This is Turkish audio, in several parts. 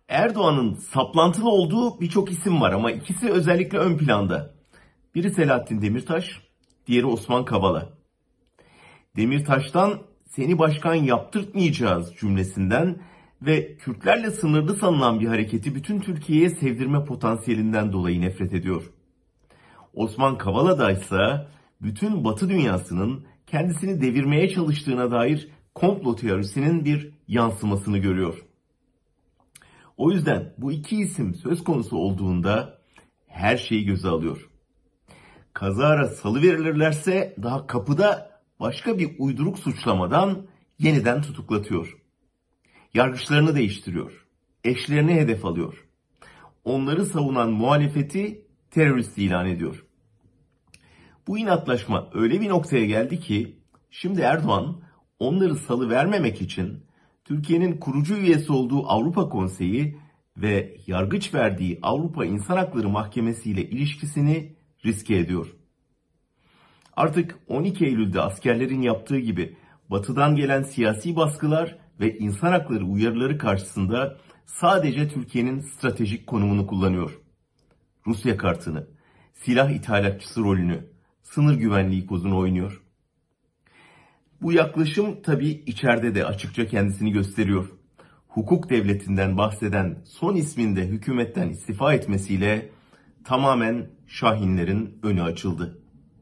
Erdoğan'ın saplantılı olduğu birçok isim var ama ikisi özellikle ön planda. Biri Selahattin Demirtaş, diğeri Osman Kavala. Demirtaş'tan seni başkan yaptırtmayacağız cümlesinden ve Kürtlerle sınırlı sanılan bir hareketi bütün Türkiye'ye sevdirme potansiyelinden dolayı nefret ediyor. Osman Kavala'da ise bütün Batı dünyasının kendisini devirmeye çalıştığına dair komplo teorisinin bir yansımasını görüyor. O yüzden bu iki isim söz konusu olduğunda her şeyi göze alıyor. Kazara salıverilirlerse daha kapıda başka bir uyduruk suçlamadan yeniden tutuklatıyor. Yargıçlarını değiştiriyor. Eşlerini hedef alıyor. Onları savunan muhalefeti terörist ilan ediyor. Bu inatlaşma öyle bir noktaya geldi ki şimdi Erdoğan onları salıvermemek için Türkiye'nin kurucu üyesi olduğu Avrupa Konseyi ve yargıç verdiği Avrupa İnsan Hakları Mahkemesi ile ilişkisini riske ediyor. Artık 12 Eylül'de askerlerin yaptığı gibi Batı'dan gelen siyasi baskılar ve insan hakları uyarıları karşısında sadece Türkiye'nin stratejik konumunu kullanıyor. Rusya kartını, silah ithalatçısı rolünü, sınır güvenliği kozunu oynuyor. Bu yaklaşım tabii içeride de açıkça kendisini gösteriyor. Hukuk devletinden bahseden son isminde hükümetten istifa etmesiyle tamamen Şahinlerin önü açıldı.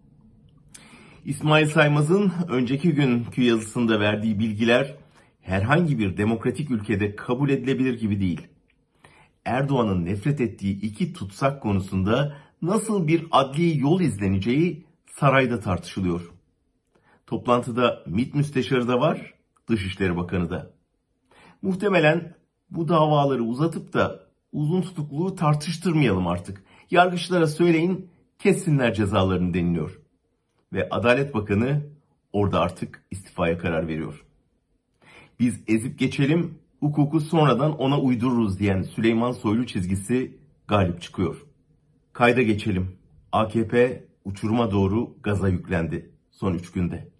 İsmail Saymaz'ın önceki günkü yazısında verdiği bilgiler herhangi bir demokratik ülkede kabul edilebilir gibi değil. Erdoğan'ın nefret ettiği iki tutsak konusunda nasıl bir adli yol izleneceği sarayda tartışılıyor. Toplantıda MİT Müsteşarı da var, Dışişleri Bakanı da. Muhtemelen bu davaları uzatıp da uzun tutukluğu tartıştırmayalım artık. Yargıçlara söyleyin, kessinler cezalarını deniliyor. Ve Adalet Bakanı orada artık istifaya karar veriyor. Biz ezip geçelim, hukuku sonradan ona uydururuz diyen Süleyman Soylu çizgisi galip çıkıyor. Kayda geçelim. AKP uçuruma doğru gaza yüklendi son 3 günde.